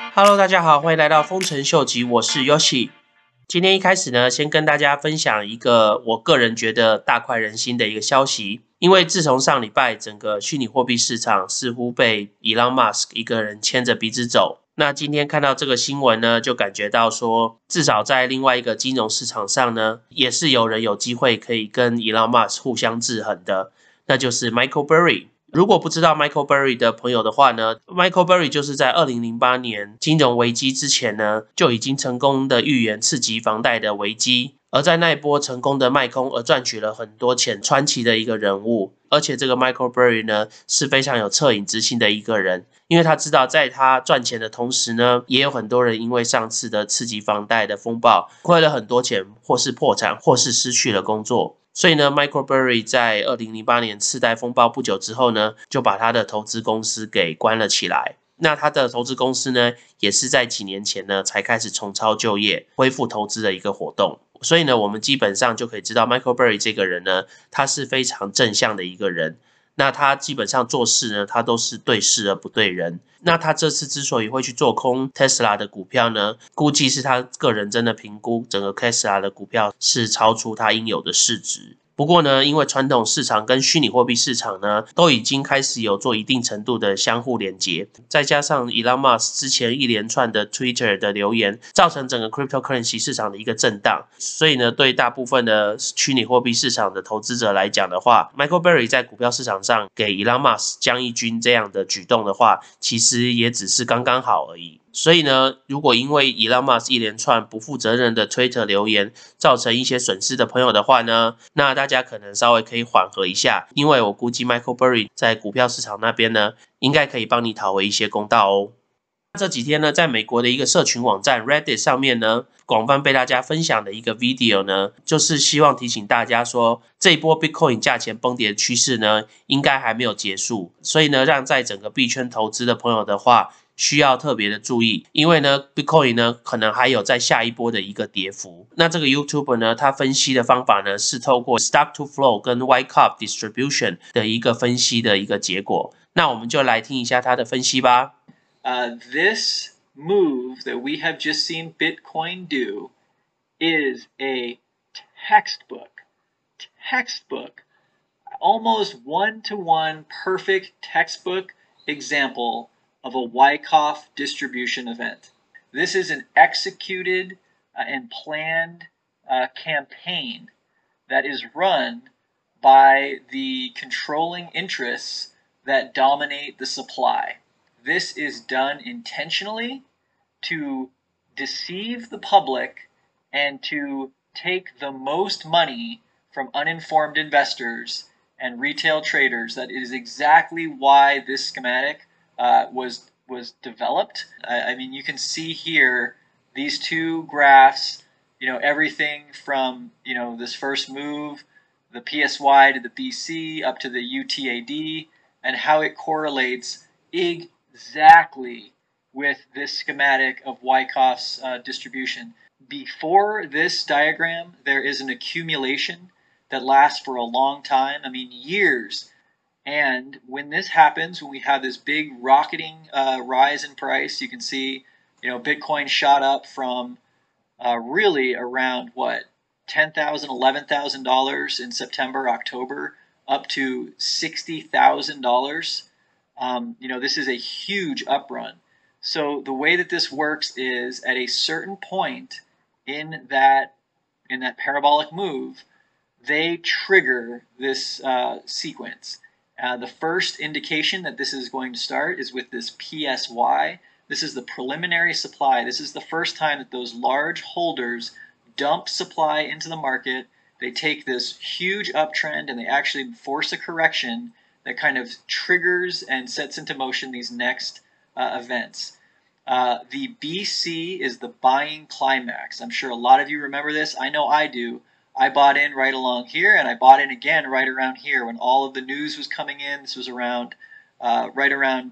Hello， 大家好，欢迎来到丰臣秀吉，我是 Yoshi。今天一开始呢，先跟大家分享一个我个人觉得大快人心的一个消息。因为自从上礼拜整个虚拟货币市场似乎被 Elon Musk 一个人牵着鼻子走，那今天看到这个新闻呢，就感觉到说，至少在另外一个金融市场上呢，也是有人有机会可以跟 Elon Musk 互相制衡的，那就是 Michael Burry。如果不知道 Michael Burry 的朋友的话呢， Michael Burry 就是在2008年金融危机之前呢，就已经成功的预言次级房贷的危机，而在那一波成功的卖空而赚取了很多钱，传奇的一个人物。而且这个 Michael Burry 呢，是非常有恻隐之心的一个人，因为他知道在他赚钱的同时呢，也有很多人因为上次的次级房贷的风暴亏了很多钱，或是破产，或是失去了工作。所以呢 ，Michael Burry 在2008年次贷风暴不久之后呢，就把他的投资公司给关了起来。那他的投资公司呢，也是在几年前呢，才开始重操旧业，恢复投资的一个活动。所以呢，我们基本上就可以知道 Michael Burry 这个人呢，他是非常正向的一个人。那他基本上做事呢，他都是对事而不对人。那他这次之所以会去做空 Tesla 的股票呢，估计是他个人真的评估整个 Tesla 的股票是超出他应有的市值。不过呢，因为传统市场跟虚拟货币市场呢，都已经开始有做一定程度的相互连接，再加上 Elon Musk 之前一连串的 Twitter 的留言，造成整个 cryptocurrency 市场的一个震荡。所以呢，对大部分的虚拟货币市场的投资者来讲的话， Michael Burry 在股票市场上给 Elon Musk 将一军这样的举动的话，其实也只是刚刚好而已。所以呢，如果因为 Elon Musk 一连串不负责任的 Twitter 留言造成一些损失的朋友的话呢，那大家可能稍微可以缓和一下，因为我估计 Michael Burry 在股票市场那边呢，应该可以帮你讨回一些公道哦。这几天呢，在美国的一个社群网站 Reddit 上面呢，广泛被大家分享的一个 video 呢，就是希望提醒大家说，这一波 Bitcoin 价钱崩跌的趋势呢，应该还没有结束，所以呢，让在整个币圈投资的朋友的话，需要特别的注意，因为呢 Bitcoin 呢可能还有在下一波的一个跌幅。那这个 YouTuber 呢，他分析的方法呢是透过 Stock to Flow 跟 Wyckoff Distribution 的一个分析的一个结果。那我们就来听一下他的分析吧。 This move that we have just seen Bitcoin do is a textbook, almost one-to-one perfect textbook example of a Wyckoff distribution event. This is an executed and planned campaign that is run by the controlling interests that dominate the supply. This is done intentionally to deceive the public and to take the most money from uninformed investors and retail traders. That is exactly why this schematic was developed. I mean, you can see here these two graphs, everything from, this first move, the PSY to the BC up to the UTAD, and how it correlates exactly with this schematic of Wyckoff's distribution. Before this diagram, there is an accumulation that lasts for a long time, I mean years. And when this happens, when we have this big rocketing rise in price, you can see, Bitcoin shot up from really around what, $10,000, $11,000 in September, October, up to $60,000. This is a huge uprun. So the way that this works is at a certain point in that parabolic move, they trigger this sequence. The first indication that this is going to start is with this PSY. This is the preliminary supply. This is the first time that those large holders dump supply into the market. They take this huge uptrend and they actually force a correction that kind of triggers and sets into motion these next events. The BC is the buying climax. I'm sure a lot of you remember this. I know I do. I bought in right along here, and I bought in again right around here when all of the news was coming in. This was around right around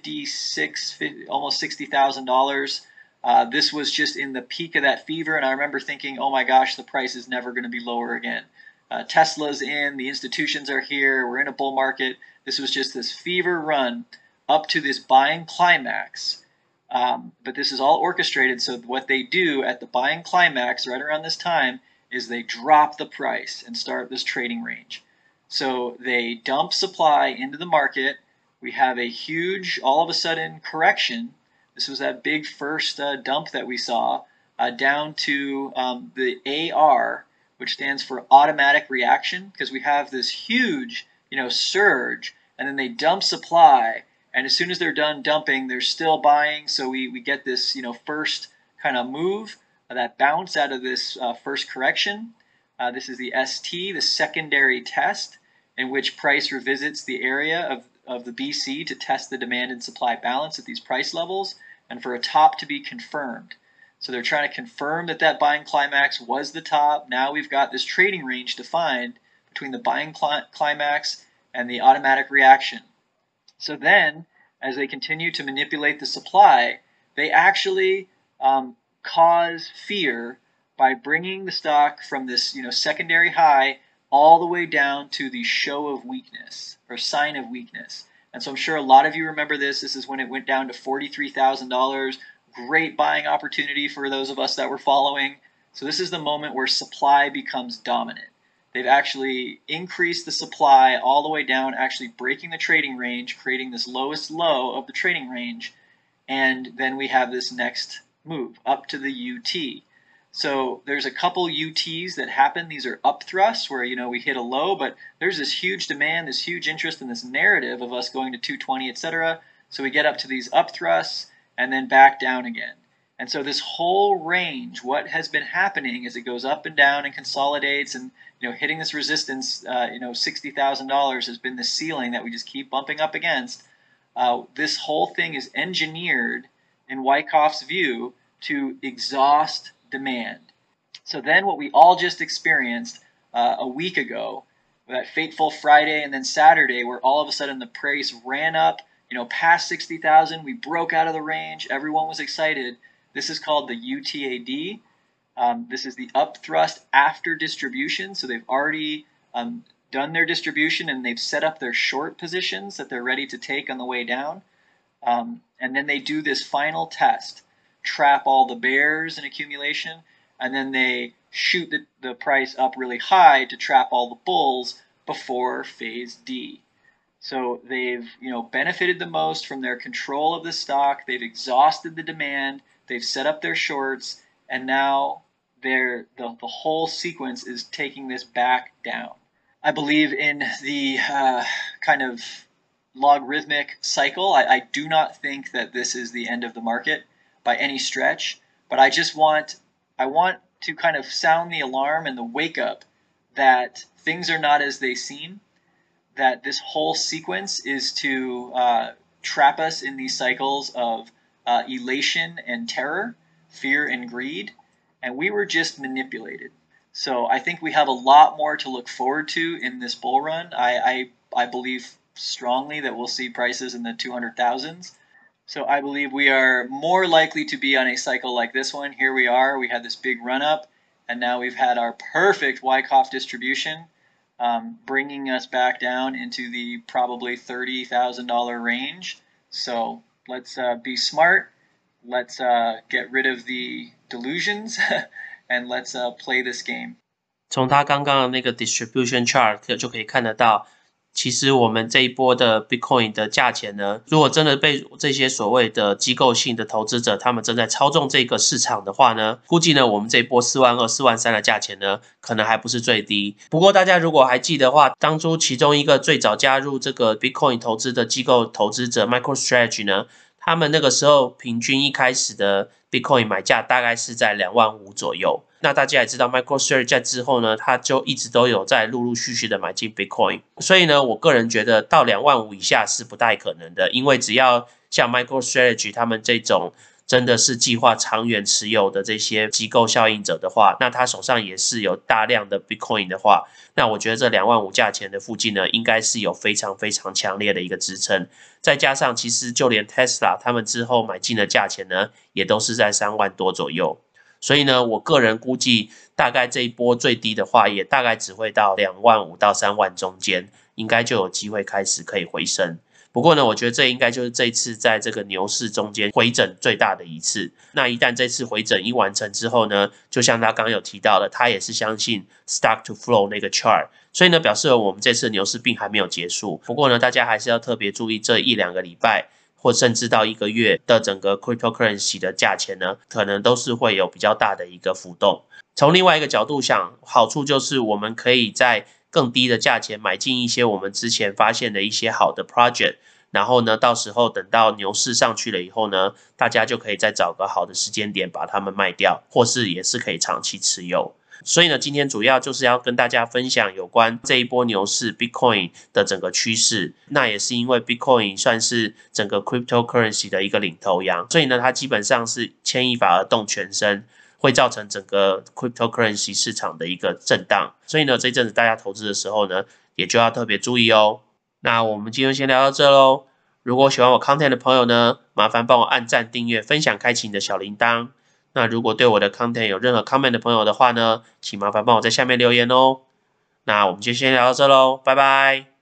almost $60,000. This was just in the peak of that fever, and I remember thinking, oh my gosh, the price is never going to be lower again. Tesla's in, the institutions are here, we're in a bull market. This was just this fever run up to this buying climax. But this is all orchestrated. So what they do at the buying climax right around this time is they drop the price and start this trading range. So they dump supply into the market. We have a huge, all of a sudden, correction. This was that big first dump that we saw down to the AR, which stands for automatic reaction, because we have this huge, surge, and then they dump supply. And as soon as they're done dumping, they're still buying. So we get this, first kind of move, that bounce out of this first correction. This is the ST, the secondary test, in which price revisits the area of the BC to test the demand and supply balance at these price levels, and for a top to be confirmed. So they're trying to confirm that buying climax was the top. Now we've got this trading range defined between the buying climax and the automatic reaction. So then, as they continue to manipulate the supply, they actually cause fear by bringing the stock from this secondary high all the way down to the show of weakness or sign of weakness. And so I'm sure a lot of you remember this. This is when it went down to $43,000. Great buying opportunity for those of us that were following. So this is the moment where supply becomes dominant. They've actually increased the supply all the way down, actually breaking the trading range, creating this lowest low of the trading range. And then we have this next move up to the UT. So there's a couple UTs that happen. These are up thrusts where, we hit a low, but there's this huge demand, this huge interest in this narrative of us going to 220, etc. So we get up to these up thrusts and then back down again. And so this whole range, what has been happening is it goes up and down and consolidates, and hitting this resistance, $60,000 has been the ceiling that we just keep bumping up against. This whole thing is engineered in Wyckoff's view to exhaust demand. So then what we all just experienced a week ago, that fateful Friday and then Saturday, where all of a sudden the price ran up, past 60,000, we broke out of the range, everyone was excited. This is called the UTAD. This is the up thrust after distribution. So they've already done their distribution and they've set up their short positions that they're ready to take on the way down. And then they do this final test, trap all the bears in accumulation, and then they shoot the price up really high to trap all the bulls before phase D. So they've benefited the most from their control of the stock. They've exhausted the demand. They've set up their shorts, and now the whole sequence is taking this back down. I believe in the kind of logarithmic cycle. I do not think that this is the end of the market by any stretch, but I want to kind of sound the alarm and the wake up that things are not as they seem, that this whole sequence is to trap us in these cycles of elation and terror, fear and greed, and we were just manipulated. So I think we have a lot more to look forward to in this bull run. I believe strongly that we'll see prices in the 200,000s. So I believe we are more likely to be on a cycle like this one. Here we are. We had this big run up, and now we've had our perfect Wyckoff distribution, bringing us back down into the probably $30,000 range. So let's be smart. Let's get rid of the delusions and let's play this game. 从他刚刚的那个 distribution chart 就可以看得到，其实我们这一波的 Bitcoin 的价钱呢，如果真的被这些所谓的机构性的投资者他们正在操纵这个市场的话呢，估计呢我们这一波42000、43000的价钱呢，可能还不是最低。不过大家如果还记得的话，当初其中一个最早加入这个 Bitcoin 投资的机构投资者 MicroStrategy 呢，他们那个时候平均一开始的 Bitcoin 买价大概是在25000左右。那大家也知道 MicroStrategy 在之后呢，它就一直都有在陆陆续续的买进 Bitcoin， 所以呢，我个人觉得到25000以下是不太可能的，因为只要像 MicroStrategy 他们这种真的是计划长远持有的这些机构效应者的话，那他手上也是有大量的 Bitcoin 的话，那我觉得这25000价钱的附近呢，应该是有非常非常强烈的一个支撑。再加上其实就连 Tesla 他们之后买进的价钱呢，也都是在3万多左右。所以呢，我个人估计大概这一波最低的话，也大概只会到25000到3万中间，应该就有机会开始可以回升。 不过呢，我觉得这应该就是这一次在这个牛市中间回整最大的一次。那一旦这次回整一完成之后呢，就像他刚刚有提到的，他也是相信 stock to flow 那个 chart， 所以呢，表示我们这次牛市并还没有结束。不过呢，大家还是要特别注意这1-2个礼拜，或甚至到1个月的整个 cryptocurrency 的价钱呢，可能都是会有比较大的一个浮动。从另外一个角度想，好处就是我们可以在更低的价钱买进一些我们之前发现的一些好的 project， 然后呢，到时候等到牛市上去了以后呢，大家就可以再找个好的时间点把它们卖掉，或是也是可以长期持有。所以呢，今天主要就是要跟大家分享有关这一波牛市 Bitcoin 的整个趋势。那也是因为 Bitcoin 算是整个 cryptocurrency 的一个领头羊，所以呢，它基本上是牵一发而动全身，会造成整个 cryptocurrency 市场的一个震荡。所以呢，这一阵子大家投资的时候呢，也就要特别注意哦。那我们今天先聊到这咯。如果喜欢我 content 的朋友呢，麻烦帮我按赞、订阅、分享、开启你的小铃铛。那如果对我的 content 有任何 comment 的朋友的话呢，请麻烦帮我在下面留言哦。那我们就先聊到这咯，拜拜。